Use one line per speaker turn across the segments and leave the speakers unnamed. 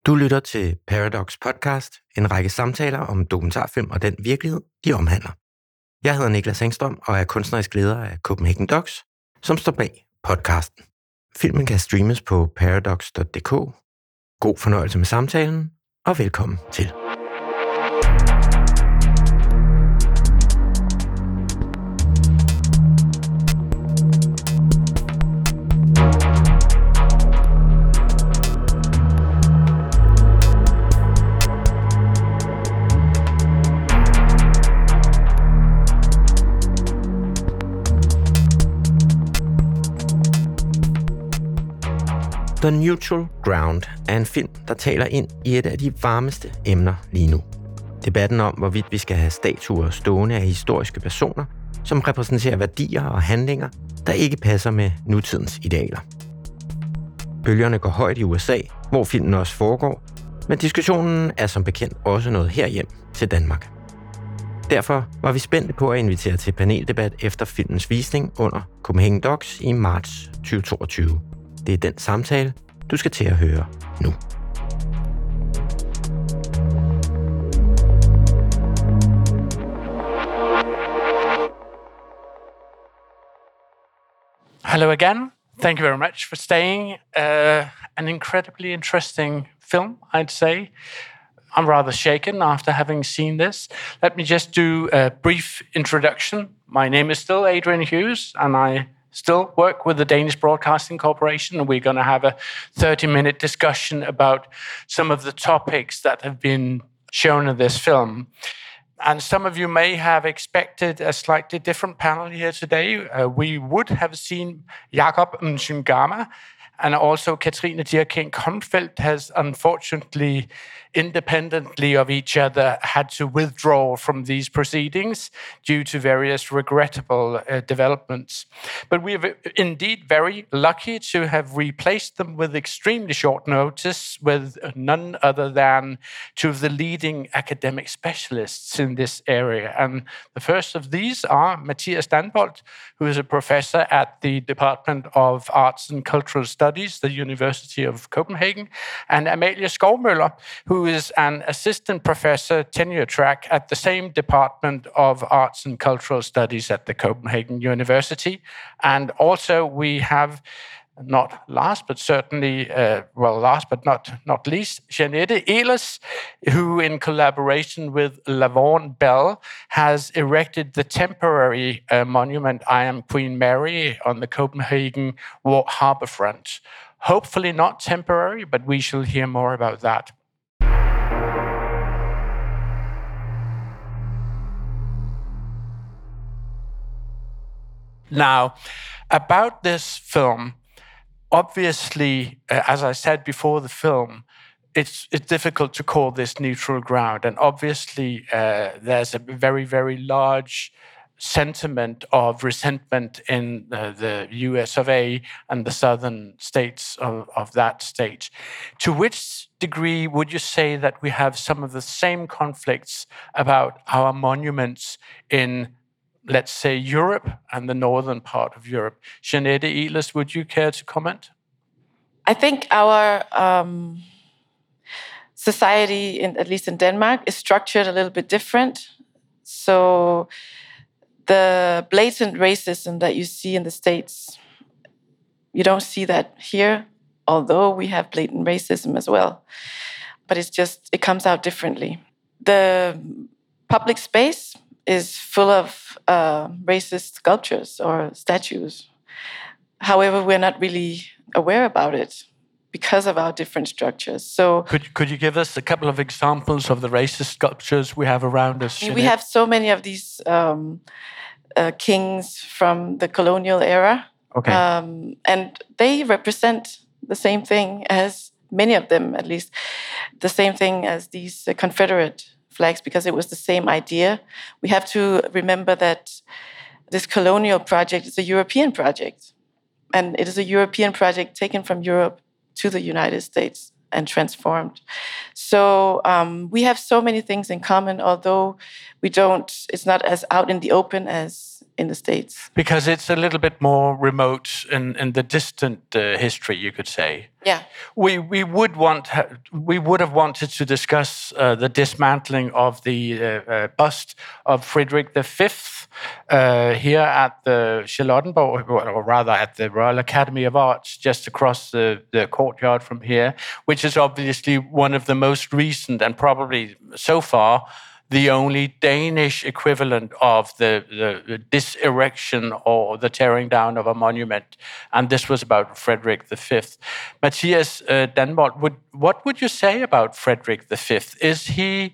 Du lytter til Paradox Podcast, en række samtaler om dokumentarfilm og den virkelighed, de omhandler. Jeg hedder Niklas Engstrøm og er kunstnerisk leder af Copenhagen Docs, som står bag podcasten. Filmen kan streames på paradox.dk. God fornøjelse med samtalen, og velkommen til. The Neutral Ground er en film, der taler ind i et af de varmeste emner lige nu. Debatten om, hvorvidt vi skal have statuer stående af historiske personer, som repræsenterer værdier og handlinger, der ikke passer med nutidens idealer. Bølgerne går højt i USA, hvor filmen også foregår, men diskussionen er som bekendt også nået herhjem til Danmark. Derfor var vi spændte på at invitere til paneldebat efter filmens visning under Copenhagen Docs i marts 2022. Det er den samtale, du skal til at høre nu.
Hello again. Thank you very much for staying. An incredibly interesting film, I'd say. I'm rather shaken after having seen this. Let me just do a brief introduction. My name is still Adrian Hughes, and I still work with the Danish Broadcasting Corporation, and we're going to have a 30-minute discussion about some of the topics that have been shown in this film. And some of you may have expected a slightly different panel here today. We would have seen Jakob Mchungama, and also Katrine Dierking-Konfeldt has unfortunately, independently of each other, had to withdraw from these proceedings due to various regrettable developments. But we are indeed very lucky to have replaced them with extremely short notice with none other than two of the leading academic specialists in this area. And the first of these are Mathias Danbolt, who is a professor at the Department of Arts and Cultural Studies, the University of Copenhagen, and Amalie Skovmøller, who is an assistant professor tenure track at the same Department of Arts and Cultural Studies at the Copenhagen University. And also we have, not last but certainly, last but not least, Jeanette Ehlers, who in collaboration with Lavon Bell has erected the temporary monument I Am Queen Mary on the Copenhagen harbourfront. Hopefully not temporary, but we shall hear more about that. Now, about this film, obviously, as I said before the film, it's difficult to call this neutral ground. And obviously, there's a very, very large sentiment of resentment in the US of A and the southern states of that state. To which degree would you say that we have some of the same conflicts about our monuments in, let's say, Europe and the northern part of Europe? Jeanette Ehlers, would you care to comment?
I think our society, at least in Denmark, is structured a little bit different. So the blatant racism that you see in the States, you don't see that here, although we have blatant racism as well. But it comes out differently. The public space is full of racist sculptures or statues. However, we're not really aware about it because of our different structures. So,
could you give us a couple of examples of the racist sculptures we have around us?
We have so many of these kings from the colonial era,
okay,
and they represent the same thing as many of them, at least the same thing as these Confederate flags, because it was the same idea. We have to remember that this colonial project is a European project, and it is a European project taken from Europe to the United States and transformed. So we have so many things in common, although it's not as out in the open as in the States.
Because it's a little bit more remote in the distant history, you could say.
Yeah.
We would have wanted to discuss the dismantling of the bust of Frederick V here at the Charlottenborg, or rather at the Royal Academy of Arts, just across the courtyard from here, which is obviously one of the most recent and probably so far the only Danish equivalent of the diserection or the tearing down of a monument. And this was about Frederick V. Mathias Danbolt, what would you say about Frederick V? Is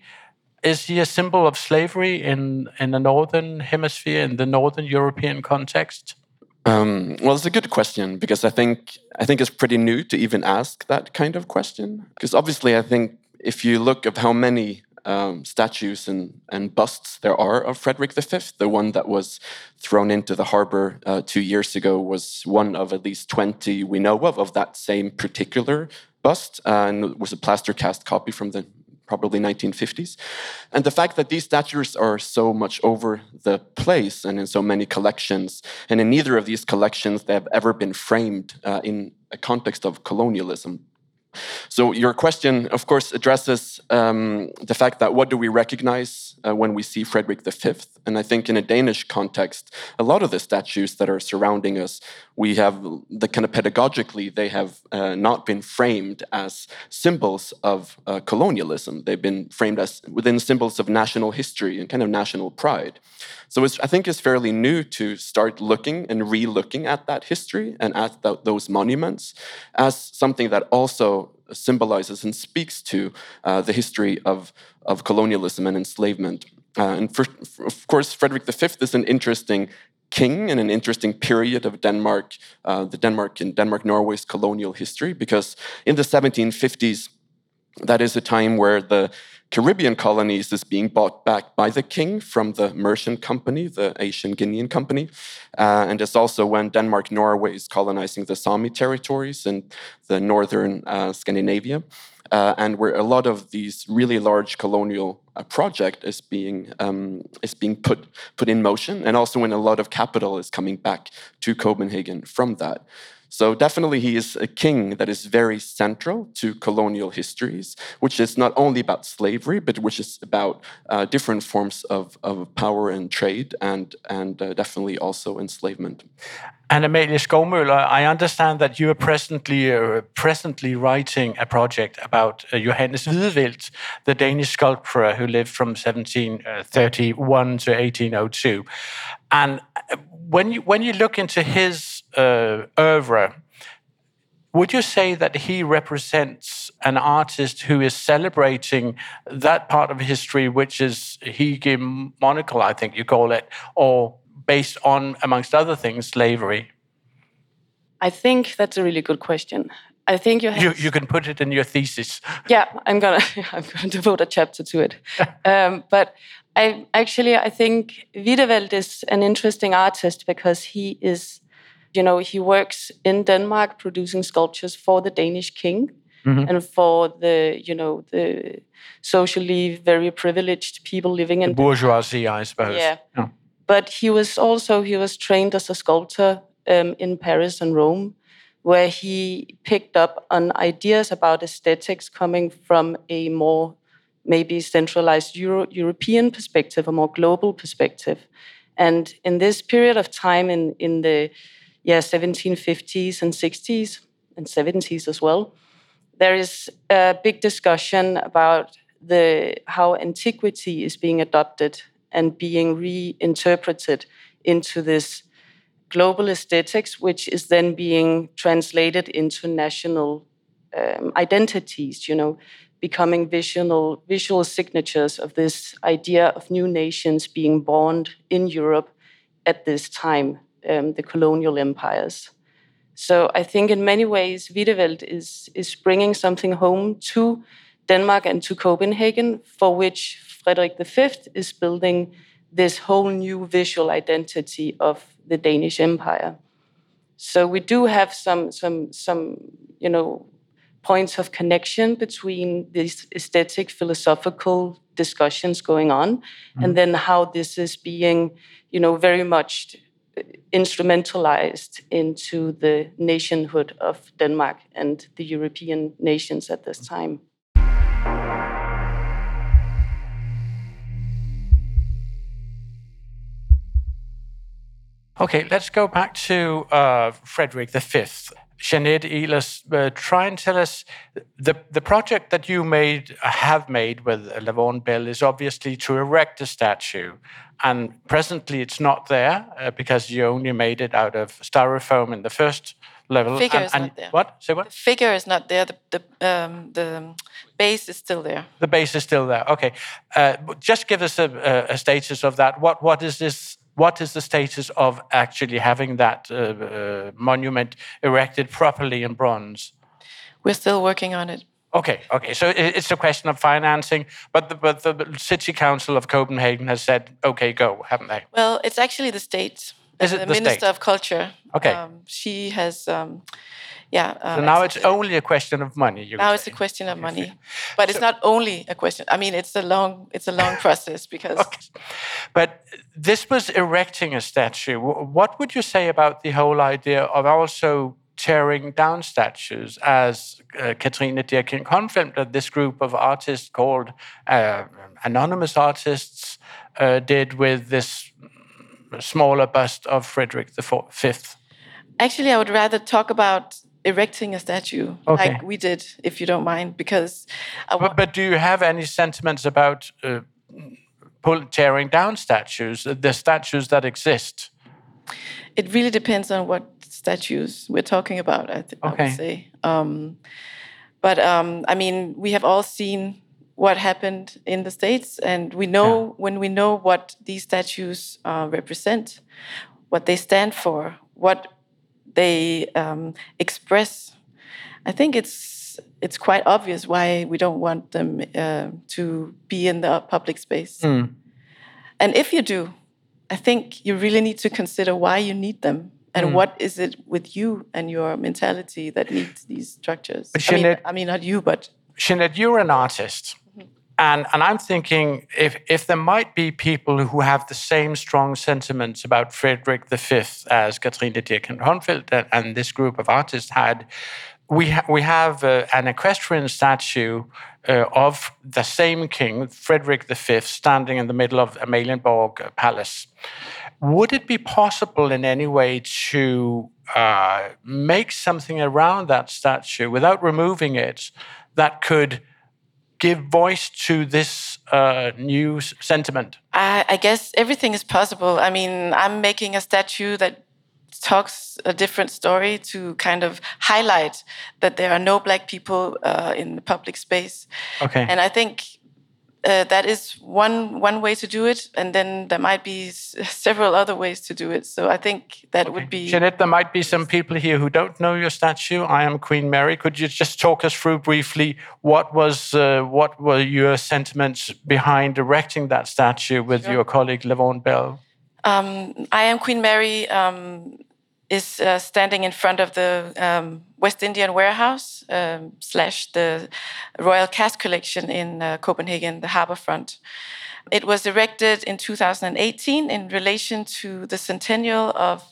he a symbol of slavery in the Northern Hemisphere, in the Northern European context?
Well, it's a good question, because I think it's pretty new to even ask that kind of question. Because obviously, I think if you look at how many statues and busts there are of Frederick V, the one that was thrown into the harbor 2 years ago was one of at least 20 we know of that same particular bust, and it was a plaster cast copy from the probably 1950s. And the fact that these statues are so much over the place and in so many collections, and in neither of these collections they have ever been framed in a context of colonialism. So your question, of course, addresses the fact that what do we recognize when we see Frederick V? And I think in a Danish context, a lot of the statues that are surrounding us, we have the kind of pedagogically, they have not been framed as symbols of colonialism. They've been framed as within symbols of national history and kind of national pride. So I think it's fairly new to start looking and re-looking at that history and at those monuments as something that also symbolizes and speaks to the history of colonialism and enslavement. Of course, Frederick V is an interesting king in an interesting period of Denmark, Denmark-Norway's colonial history, because in the 1750s, that is a time where the Caribbean colonies is being bought back by the king from the Merchant Company, the Asian Guinean Company. And it's also when Denmark-Norway is colonizing the Sami territories in the northern Scandinavia. And where a lot of these really large colonial project is being put in motion, and also when a lot of capital is coming back to Copenhagen from that. So definitely he is a king that is very central to colonial histories, which is not only about slavery, but which is about different forms of power and trade, and definitely also enslavement.
And Amalie Skovmøller, I understand that you are presently writing a project about Johannes Wiedewelt, the Danish sculptor who lived from 1731 to 1802. And when you look into his oeuvre, would you say that he represents an artist who is celebrating that part of history, which is hegemonical, I think you call it, or based on, amongst other things, slavery?
I think that's a really good question. I think
you can put it in your thesis.
Yeah, I'm gonna devote a chapter to it. But I think Wiedewelt is an interesting artist because he is, he works in Denmark producing sculptures for the Danish king. Mm-hmm. And for the socially very privileged people living in
the bourgeoisie, I suppose.
Yeah. Oh. But he was trained as a sculptor in Paris and Rome, where he picked up on ideas about aesthetics coming from a more maybe centralized European perspective, a more global perspective. And in this period of time in the 1750s and 60s and 70s as well, there is a big discussion about how antiquity is being adopted and being reinterpreted into this global aesthetics, which is then being translated into national identities, becoming visual signatures of this idea of new nations being born in Europe at this time, the colonial empires. So I think in many ways, Wiedewelt is bringing something home to Denmark and to Copenhagen, for which Frederik V is building this whole new visual identity of the Danish Empire. So we do have some points of connection between these aesthetic, philosophical discussions going on, and then how this is being, very much instrumentalized into the nationhood of Denmark and the European nations at this time.
Okay, let's go back to Frederik V. Jeanette Ehlers, try and tell us, the project that you have made with Laverne Bell is obviously to erect a statue. And presently it's not there because you only made it out of styrofoam in the first level.
The figure is not there.
What? Say what?
The figure is not there. The base is still there.
The base is still there. Okay. Just give us a status of that. What is this? What is the status of actually having that monument erected properly in bronze?
We're still working on it.
Okay. So it's a question of financing, but the City Council of Copenhagen has said, okay, go, haven't they?
Well, it's actually the state.
Is it
the
the
Minister
state?
of Culture.
Okay.
She has,
So now it's only a question of money.
Now it's a question of money, but it's not only a question. I mean, it's a long process because.
Okay. But this was erecting a statue. What would you say about the whole idea of also tearing down statues, as Katrine Dirking Konfeldt, this group of artists called anonymous artists, did with this smaller bust of Frederik V?
Actually, I would rather talk about erecting a statue like we did, if you don't mind, because.
But do you have any sentiments about tearing down statues, the statues that exist?
It really depends on what statues we're talking about, I would say. But I mean, we have all seen what happened in the States, and we know when we know what these statues represent, what they stand for, what they express. I think it's quite obvious why we don't want them to be in the public space. And if you do, I think you really need to consider why you need them. And what is it with you and your mentality that needs these structures? I mean, not you, but...
Jeanette, you're an artist. And I'm thinking if there might be people who have the same strong sentiments about Frederik V as Katrine Dirking Konfeldt and this group of artists had, we have an equestrian statue of the same king, Frederik V, standing in the middle of Amalienborg Palace. Would it be possible in any way to make something around that statue without removing it that could give voice to this new sentiment?
I guess everything is possible. I mean, I'm making a statue that talks a different story to kind of highlight that there are no Black people in the public space.
Okay.
And I think that is one way to do it, and then there might be several other ways to do it. So I think that would be...
Jeanette, there might be some people here who don't know your statue. I am Queen Mary. Could you just talk us through briefly what were your sentiments behind erecting that statue with your colleague Laverne Bell?
I Am Queen Mary is standing in front of the West Indian Warehouse / the Royal Cast Collection in Copenhagen, the harbourfront. It was erected in 2018 in relation to the centennial of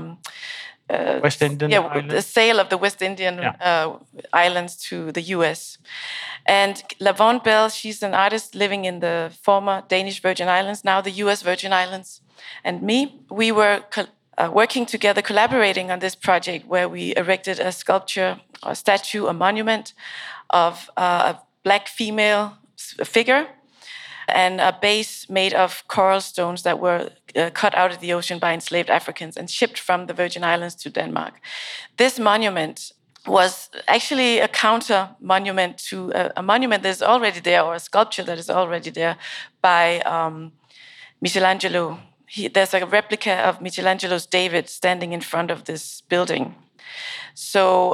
West Indian Islands?
The sale of the West Indian islands to the US. And Laverne Bell, she's an artist living in the former Danish Virgin Islands, now the US Virgin Islands. And me, we were working together, collaborating on this project where we erected a sculpture, a statue, a monument of a Black female figure and a base made of coral stones that were cut out of the ocean by enslaved Africans and shipped from the Virgin Islands to Denmark. This monument was actually a counter monument to a monument that is already there, or a sculpture that is already there by Michelangelo. There's a replica of Michelangelo's David standing in front of this building. So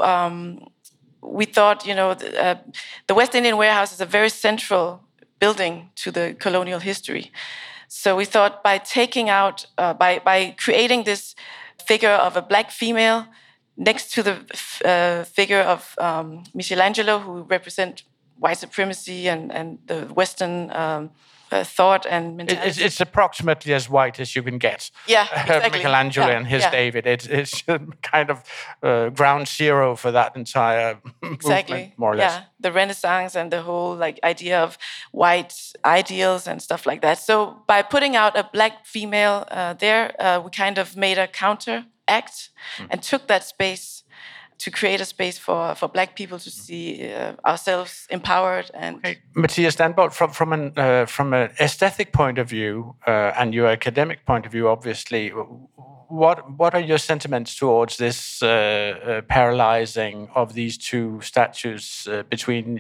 we thought, the West Indian Warehouse is a very central building to the colonial history. So we thought by taking out, by creating this figure of a Black female next to the figure of Michelangelo, who represent white supremacy and the Western thought and mentality.
It's approximately as white as you can get.
Yeah, exactly.
Michelangelo
Yeah,
and his
yeah.
David. It's kind of ground zero for that entire movement, more or less.
Yeah, the Renaissance and the whole like idea of white ideals and stuff like that. So by putting out a black female there, we kind of made a counteract and took that space to create a space for black people to see ourselves empowered. And
okay. Mathias Danbolt, from an aesthetic point of view and your academic point of view, obviously, what are your sentiments towards this parallelizing of these two statues between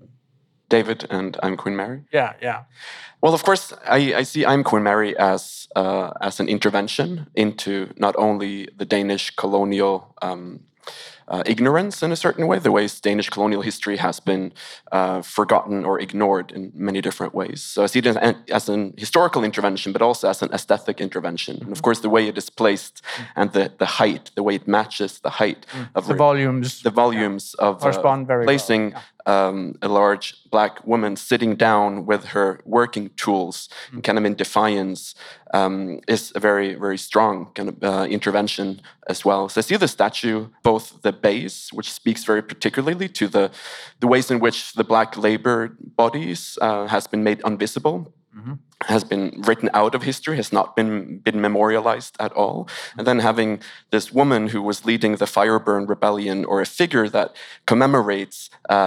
David and I'm Queen Mary?
Yeah.
Well, of course, I see I'm Queen Mary as an intervention into not only the Danish colonial ignorance in a certain way, the ways Danish colonial history has been forgotten or ignored in many different ways. So I see it as an historical intervention, but also as an aesthetic intervention. And of course, the way it is placed and the height, the way it matches the height of
the volumes
of
correspond very
placing
well.
a large black woman sitting down with her working tools, kind of in defiance, is a very, very strong kind of intervention as well. So I see the statue, both the base, which speaks very particularly to the ways in which the black labor bodies has been made invisible, has been written out of history, has not been memorialized at all. And then having this woman who was leading the Fireburn Rebellion, or a figure that commemorates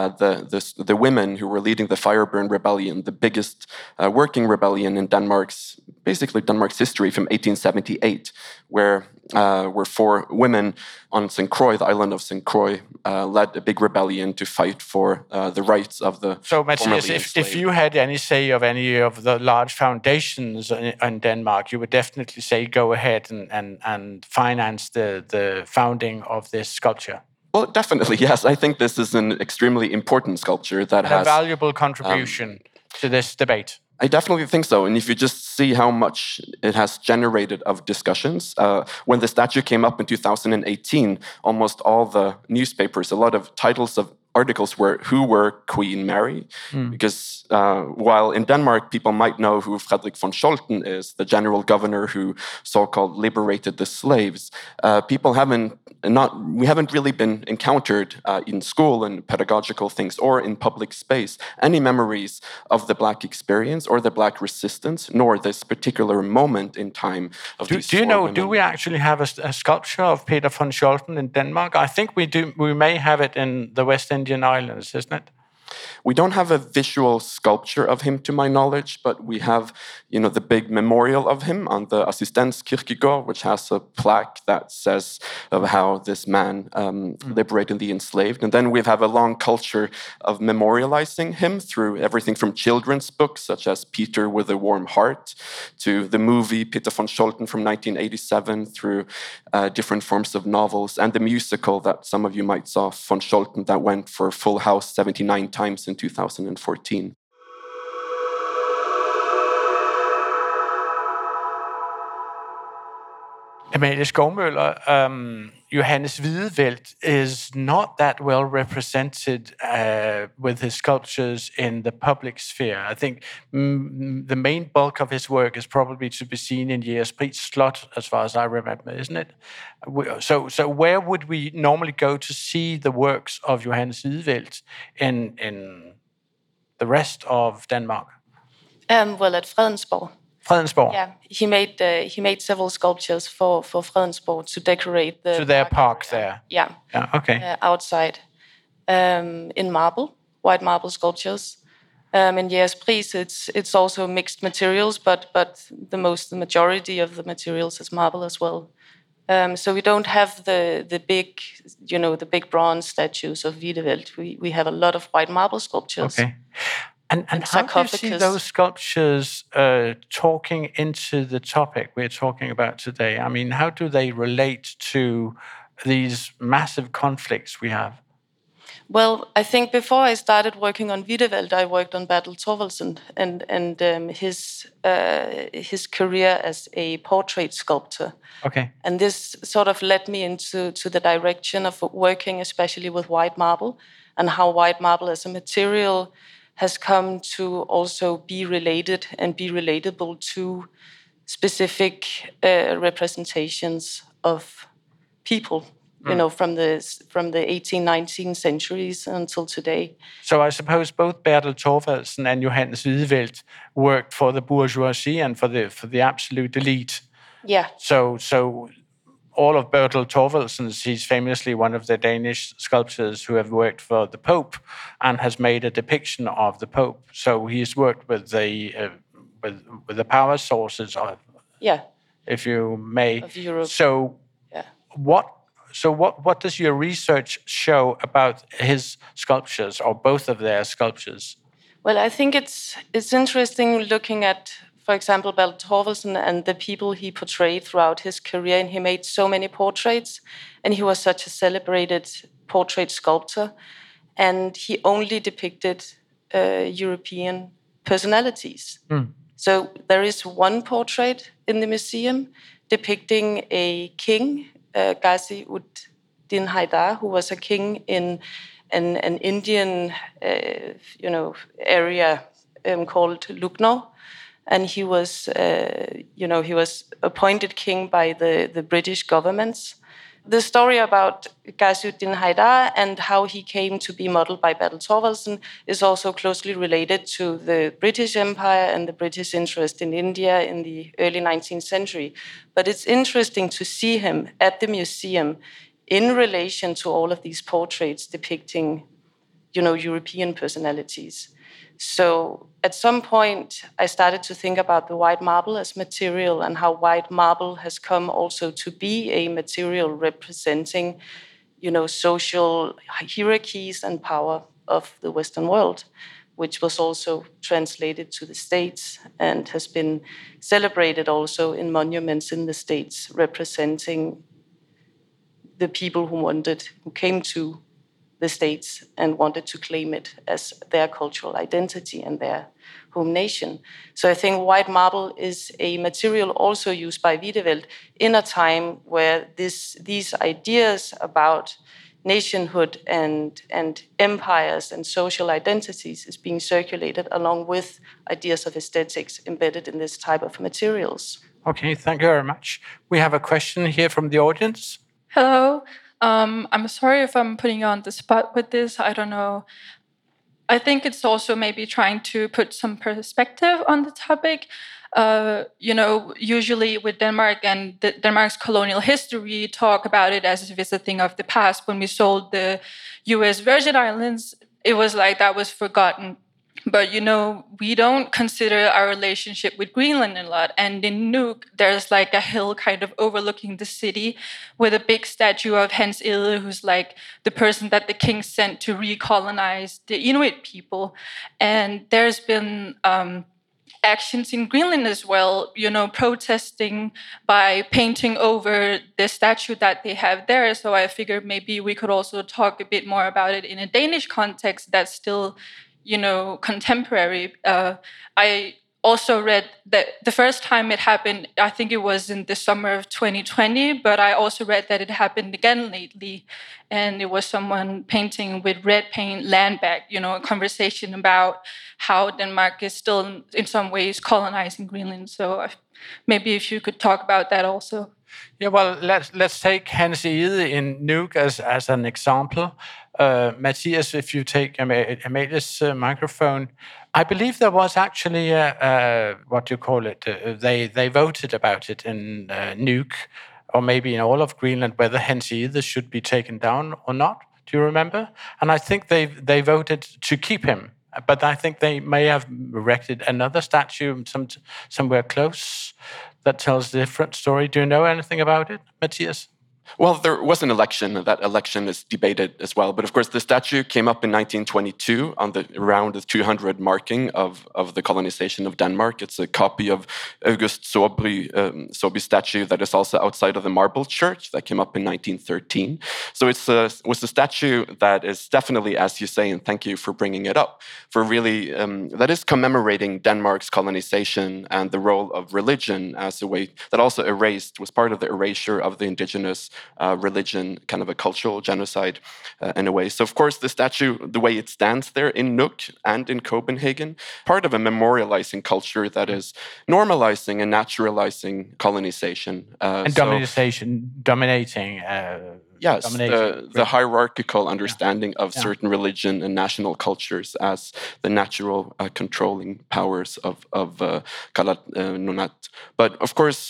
the women who were leading the Fireburn Rebellion, the biggest working rebellion in Denmark's history from 1878, where 4 women on St. Croix, the island of St. Croix, led a big rebellion to fight for the rights of the
So, Mathias, if you had any say of any of the large foundations in Denmark, you would definitely say go ahead and finance the founding of this sculpture.
Well, definitely, yes. I think this is an extremely important sculpture that
and
has
a valuable contribution to this debate.
I definitely think so. And if you just see how much it has generated of discussions, when the statue came up in 2018, almost all the newspapers, a lot of titles of articles were who were Queen Mary, because while in Denmark people might know who Frederik von Scholten is, the general governor who so-called liberated the slaves, we haven't really been encountered in school and pedagogical things or in public space any memories of the black experience or the black resistance, nor this particular moment in time of these
Do you know?
women.
Do we actually have a sculpture of Peter von Scholten in Denmark? I think we do. We may have it in the West Indian Islands, isn't it?
We don't have a visual sculpture of him, to my knowledge, but we have, the big memorial of him on the Assistens Kirkegård, which has a plaque that says of how this man liberated the enslaved. And then we have a long culture of memorializing him through everything from children's books, such as Peter with a Warm Heart, to the movie Peter von Scholten from 1987, through different forms of novels, and the musical that some of you might saw, von Scholten, that went for Full House 79 times in 2014.
Amalie Skovmøller, Johannes Wiedewelt is not that well represented with his sculptures in the public sphere. I think the main bulk of his work is probably to be seen in Jægerspris Slot, as far as I remember, isn't it? So where would we normally go to see the works of Johannes Wiedewelt in the rest of Denmark?
Well, at Fredensborg.
Fredensborg.
Yeah, he made several sculptures for Fredensborg to decorate
their park there.
Yeah.
Okay.
Outside, in marble, white marble sculptures. In Jægerspris, it's also mixed materials, but the majority of the materials is marble as well. So we don't have the big bronze statues of Wiedewelt. We have a lot of white marble sculptures.
Okay. And how do you see those sculptures talking into the topic we're talking about today? I mean, how do they relate to these massive conflicts we have?
Well, I think before I started working on Wiedewelt, I worked on Bertel Thorvaldsen and his career as a portrait sculptor.
Okay.
And this sort of led me into the direction of working especially with white marble. and how white marble as a material has come to also be related and be relatable to specific representations of people, from the 18, 19 centuries until today.
So I suppose both Bertel Thorvaldsen and Johannes Wiedewelt worked for the bourgeoisie and for the absolute elite.
Yeah.
So all of Bertel Thorvaldsen's, he's famously one of the Danish sculptors who have worked for the Pope and has made a depiction of the Pope. So he's worked with the power sources of, if you may,
of Europe.
So what does your research show about his sculptures, or both of their sculptures?
Well, I think it's interesting looking at, for example, Bertel Thorvaldsen and the people he portrayed throughout his career, and he made so many portraits, and he was such a celebrated portrait sculptor, and he only depicted European personalities. So there is one portrait in the museum depicting a king, Ghazi-ud-Din Haidar, who was a king in an Indian, area called Lucknow, and he was appointed king by the British governments. The story about Ghazi-ud-Din Haidar and how he came to be modeled by Bertel Thorvaldsen is also closely related to the British Empire and the British interest in India in the early 19th century. But it's interesting to see him at the museum in relation to all of these portraits depicting, European personalities. So at some point, I started to think about the white marble as material and how white marble has come also to be a material representing, social hierarchies and power of the Western world, which was also translated to the States and has been celebrated also in monuments in the States representing the people who came to the States and wanted to claim it as their cultural identity and their home nation. So I think white marble is a material also used by Wiedewelt in a time where these ideas about nationhood and empires and social identities is being circulated along with ideas of aesthetics embedded in this type of materials.
Okay, thank you very much. We have a question here from the audience.
Hello. I'm sorry if I'm putting you on the spot with this. I don't know. I think it's also maybe trying to put some perspective on the topic. Usually with Denmark and Denmark's colonial history, we talk about it as if it's a thing of the past. When we sold the U.S. Virgin Islands, it was like that was forgotten. But, we don't consider our relationship with Greenland a lot. And in Nuuk, there's like a hill kind of overlooking the city with a big statue of Hans Egede, who's like the person that the king sent to recolonize the Inuit people. And there's been actions in Greenland as well, protesting by painting over the statue that they have there. So I figured maybe we could also talk a bit more about it in a Danish context that's still contemporary. I also read that the first time it happened, I think it was in the summer of 2020, but I also read that it happened again lately. And it was someone painting with red paint land back, a conversation about how Denmark is still in some ways colonizing Greenland. So maybe if you could talk about that also.
Yeah, well, let's take Hans Egede in Nuuk as an example. Matthias, if you take Amalia's microphone, I believe there was actually they voted about it in Nuuk, or maybe in all of Greenland, whether Hans Egede should be taken down or not. Do you remember? And I think they voted to keep him, but I think they may have erected another statue somewhere close that tells a different story. Do you know anything about it, Matthias?
Well, there was an election. That election is debated as well. But of course, the statue came up in 1922 on around the 200 marking of the colonization of Denmark. It's a copy of August Søby's statue that is also outside of the Marble Church that came up in 1913. So it was a statue that is definitely, as you say, and thank you for bringing it up, for really, that is commemorating Denmark's colonization and the role of religion as a way that also was part of the erasure of the indigenous religion, kind of a cultural genocide in a way. So, of course, the statue, the way it stands there in Nuuk and in Copenhagen, part of a memorializing culture that is normalizing and naturalizing colonization.
And dominating.
Yes, the hierarchical understanding of certain religion and national cultures as the natural controlling powers of Kalat Nunaat. But of course,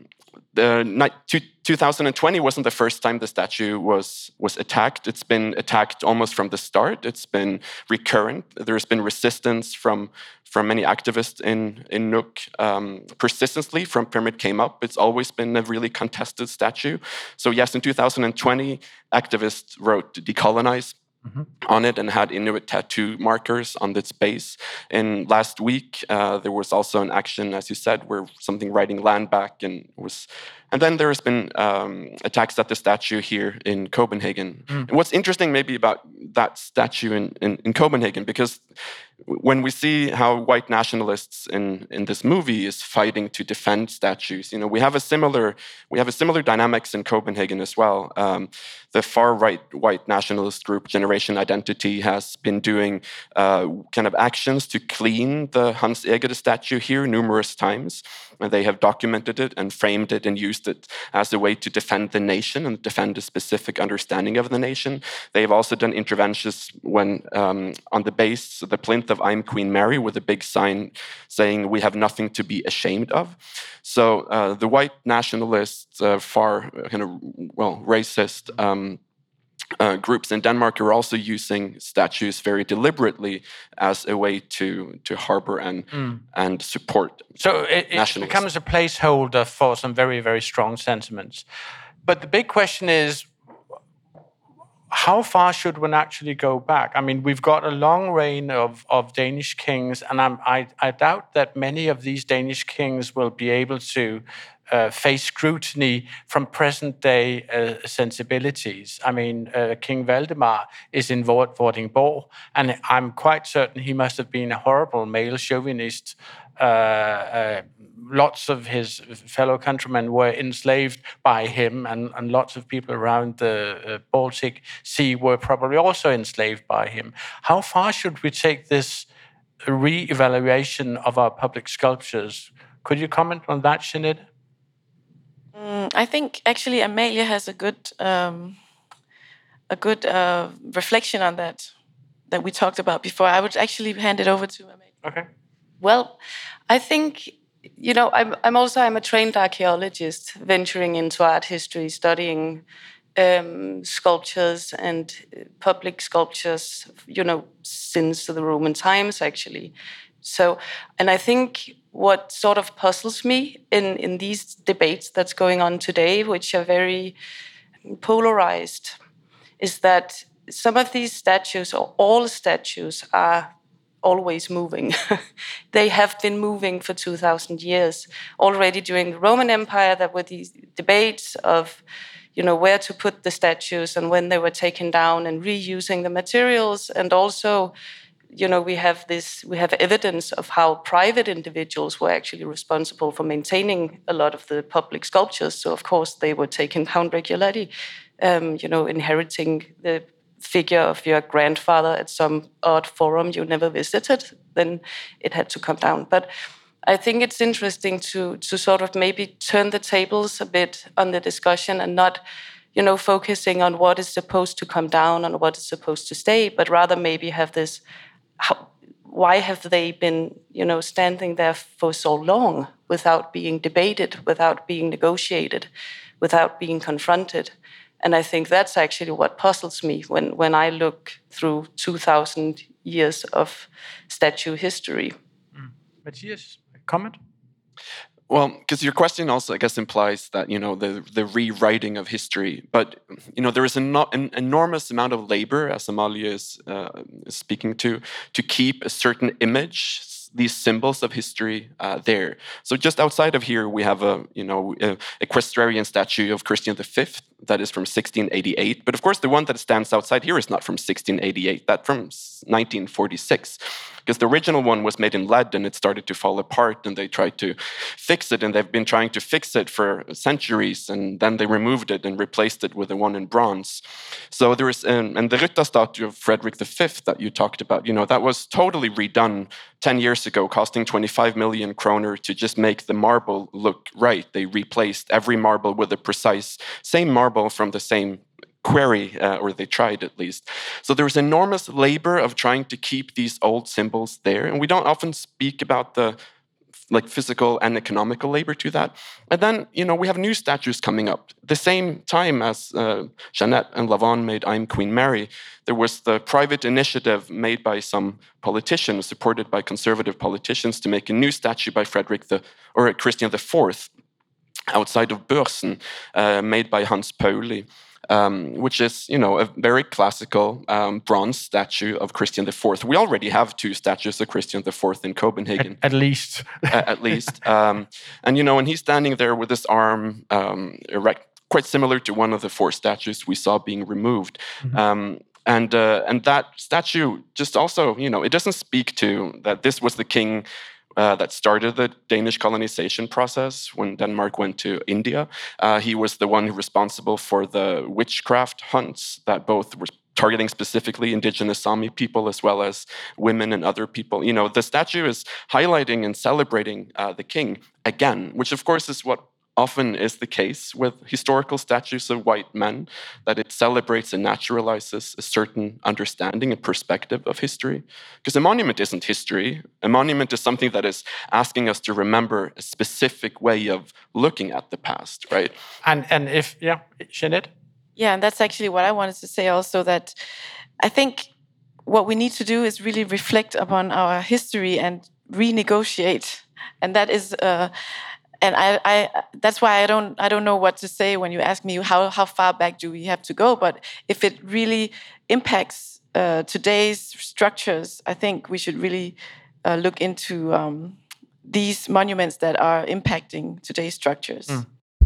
2020 wasn't the first time the statue was attacked. It's been attacked almost from the start. It's been recurrent. There's been resistance from many activists in Nuuk persistently from Pyramid came up. It's always been a really contested statue. So yes, in 2020, activists wrote decolonize on it and had Inuit tattoo markers on its base. And last week, there was also an action, as you said, where something writing land back and then there has been attacks at the statue here in Copenhagen. And what's interesting maybe about that statue in Copenhagen, because when we see how white nationalists in this movie is fighting to defend statues, we have a similar dynamics in Copenhagen as well. The far right white nationalist group Generation Identity has been doing kind of actions to clean the Hans Egede statue here numerous times, and they have documented it and framed it and used it as a way to defend the nation and defend a specific understanding of the nation. They've also done interventions when on the base, the plinth of I'm Queen Mary, with a big sign saying we have nothing to be ashamed of. So the white nationalists, far kind of racist groups in Denmark are also using statues very deliberately as a way to harbor and support.
So it becomes a placeholder for some very, very strong sentiments. But the big question is, how far should one actually go back? I mean, we've got a long reign of Danish kings, and I doubt that many of these Danish kings will be able to face scrutiny from present-day sensibilities. I mean, King Valdemar is in Vordingborg, and I'm quite certain he must have been a horrible male chauvinist. Lots of his fellow countrymen were enslaved by him, and lots of people around the Baltic Sea were probably also enslaved by him. How far should we take this re-evaluation of our public sculptures? Could you comment on that, Jeanette?
I think actually Amalie has a good reflection on that we talked about before. I would actually hand it over to Amalie.
Okay.
Well, I think, I'm a trained archaeologist venturing into art history, studying sculptures and public sculptures, since the Roman times, actually. So, and I think what sort of puzzles me in these debates that's going on today, which are very polarized, is that some of these statues, or all statues, are always moving. They have been moving for 2,000 years. Already during the Roman Empire, there were these debates of, where to put the statues and when they were taken down, and reusing the materials. And also, we have evidence of how private individuals were actually responsible for maintaining a lot of the public sculptures. So, of course, they were taken down regularly, inheriting the figure of your grandfather at some odd forum you never visited, then it had to come down. But I think it's interesting to sort of maybe turn the tables a bit on the discussion, and not, focusing on what is supposed to come down and what is supposed to stay, but rather maybe have this, why have they been, standing there for so long without being debated, without being negotiated, without being confronted? And I think that's actually what puzzles me when I look through 2,000 years of statue history.
Matthias, comment?
Well, because your question also, I guess, implies that, the rewriting of history. But, there is an enormous amount of labor, as Amalie is speaking to keep a certain image, these symbols of history there. So just outside of here, we have a equestrian statue of Christian V that is from 1688. But of course, the one that stands outside here is not from 1688, that's from 1946. Because the original one was made in lead and it started to fall apart, and they tried to fix it, and they've been trying to fix it for centuries, and then they removed it and replaced it with the one in bronze. So there is, and the Rytta statue of Frederick V that you talked about, that was totally redone 10 years ago, costing 25 million kroner to just make the marble look right. They replaced every marble with a precise same marble from the same quarry, or they tried at least. So there was enormous labor of trying to keep these old symbols there, and we don't often speak about the physical and economical labor to that. And then, we have new statues coming up. The same time as Jeanette and Lavon made I'm Queen Mary, there was the private initiative made by some politicians, supported by conservative politicians, to make a new statue by Christian IV outside of Børsen, made by Hans Pauli. Which is, a very classical bronze statue of Christian IV. We already have 2 statues of Christian IV in Copenhagen.
At least.
At least. And, and he's standing there with his arm erect, quite similar to one of the 4 statues we saw being removed. Mm-hmm. And that statue just also, it doesn't speak to that this was the king that started the Danish colonization process when Denmark went to India. He was the one responsible for the witchcraft hunts that both were targeting specifically indigenous Sami people as well as women and other people. The statue is highlighting and celebrating the king again, which of course is what often is the case with historical statues of white men, that it celebrates and naturalizes a certain understanding and perspective of history. Because a monument isn't history. A monument is something that is asking us to remember a specific way of looking at the past, right?
And Jeanette?
Yeah, and that's actually what I wanted to say also, that I think what we need to do is really reflect upon our history and renegotiate. And that is... And I that's why I don't know what to say when you ask me how far back do we have to go. But if it really impacts today's structures, I think we should really look into these monuments that are impacting today's structures. Mm.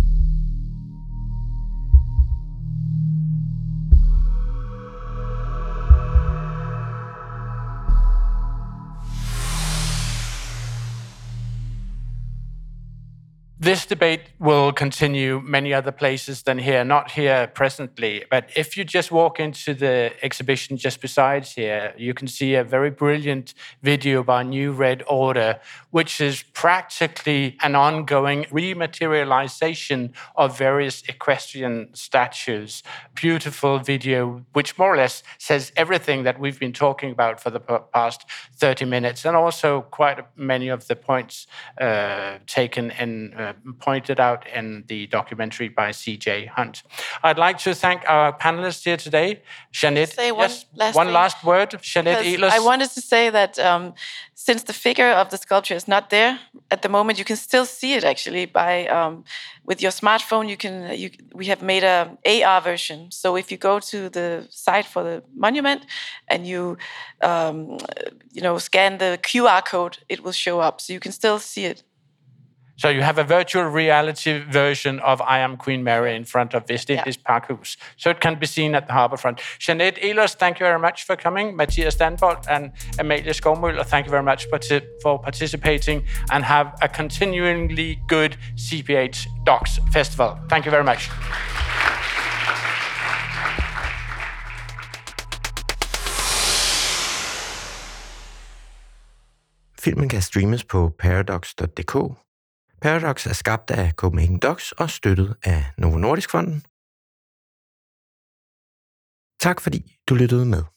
This debate will continue many other places than here, not here presently. But if you just walk into the exhibition just besides here, you can see a very brilliant video by New Red Order, which is practically an ongoing rematerialization of various equestrian statues. Beautiful video, which more or less says everything that we've been talking about for the past 30 minutes, and also quite many of the points taken in pointed out in the documentary by C.J. Hunt. I'd like to thank our panelists here today. Jeanette, one last word. Jeanette Ehlers.
I wanted to say that since the figure of the sculpture is not there at the moment, you can still see it actually by with your smartphone. We have made a AR version. So if you go to the site for the monument and you scan the QR code, it will show up. So you can still see it.
So you have a virtual reality version of I Am Queen Mary in front of Vestindisk Parkhus. So it can be seen at the harbourfront. Jeanette Ehlers, thank you very much for coming. Mathias Danbolt and Amalie Skovmøller, thank you very much for participating, and have a continuingly good CPH Docs Festival. Thank you very much.
Filmen kan streames på paradox.dk. Paradox er skabt af Copenhagen Docs og støttet af Novo Nordisk Fonden. Tak fordi du lyttede med.